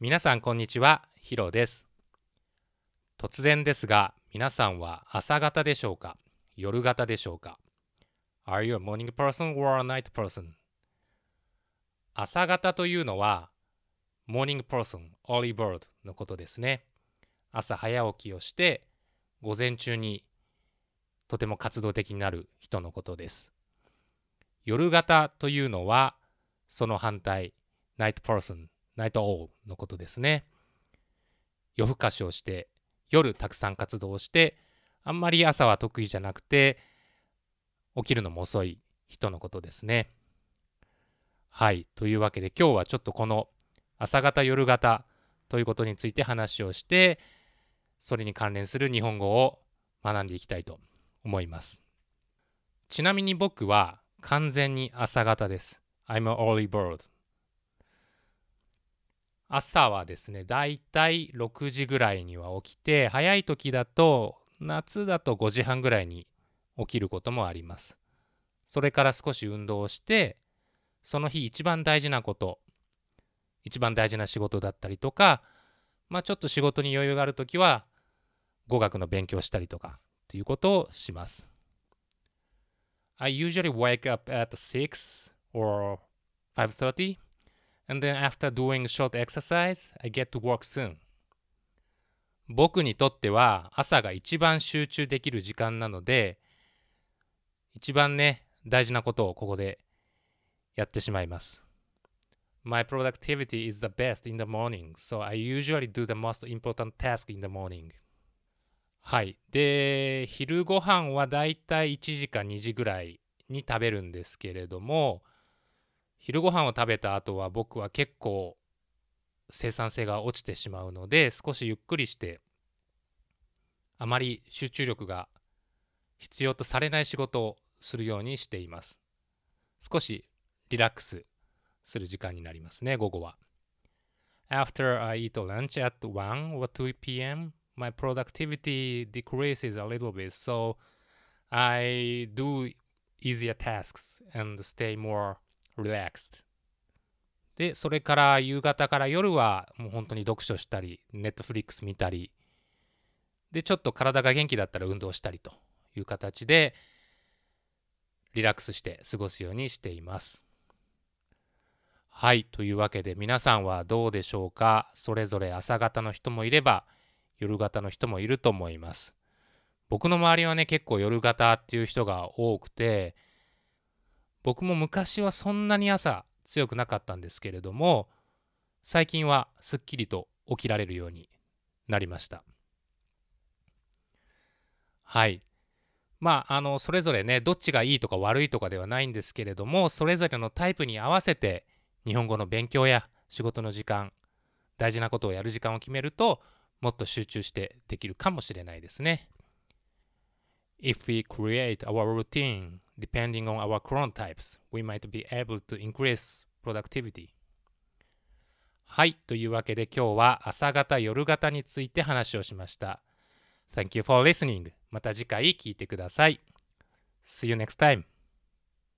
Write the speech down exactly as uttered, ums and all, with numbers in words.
皆さんこんにちは、ヒロです。突然ですが、皆さんは朝型でしょうか、夜型でしょうか？ Are you a morning person or a night person? 朝型というのは morning person, early bird のことですね。朝早起きをして午前中にとても活動的になる人のことです。夜型というのはその反対、night person, night owl のことですね。夜更かしをして夜たくさん活動して、あんまり朝は得意じゃなくて起きるのも遅い人のことですね。はい、というわけで今日はちょっとこの朝型夜型ということについて話をして、それに関連する日本語を学んでいきたいと思います。ちなみに僕は完全に朝型です。I'm an early bird。朝はですね、だいたいろくじぐらいには起きて、早い時だと夏だとごじはんぐらいに起きることもあります。それから少し運動をして、その日一番大事なこと、一番大事な仕事だったりとか、まあちょっと仕事に余裕があるときは語学の勉強したりとかっていうことをします。I usually wake up at six or five thirty, and then after doing short exercise, I get to work soon. 僕にとっては朝が一番集中できる時間なので、一番ね、大事なことをここでやってしまいます。My productivity is the best in the morning, so I usually do the most important task in the morning. はい。で、昼ご飯はだいたいいちじかにじぐらいに食べるんですけれども、昼ご飯を食べた後は僕は結構生産性が落ちてしまうので、少しゆっくりして、あまり集中力が必要とされない仕事をするようにしています。少しリラックスする時間になりますね、午後は。After I eat lunch at one or two p m, my productivity decreases a little bit, so I do easier tasks and stay more relaxed. で、それから夕方から夜はもう本当に読書したり、Netflix 見たり、で、ちょっと体が元気だったら運動したりという形で、リラックスして過ごすようにしています。はい、というわけで皆さんはどうでしょうか。それぞれ朝型の人もいれば夜型の人もいると思います。僕の周りはね、結構夜型っていう人が多くて、僕も昔はそんなに朝強くなかったんですけれども、最近はすっきりと起きられるようになりました。はい。まあ、あの、それぞれね、どっちがいいとか悪いとかではないんですけれども、それぞれのタイプに合わせて日本語の勉強や仕事の時間、大事なことをやる時間を決めると、もっと集中してできるかもしれないですね。If we create our routine depending on our current types, we might be able to increase productivity. はい、というわけで今日は朝型、夜型について話をしました。Thank you for listening. また次回聞いてください。See you next time.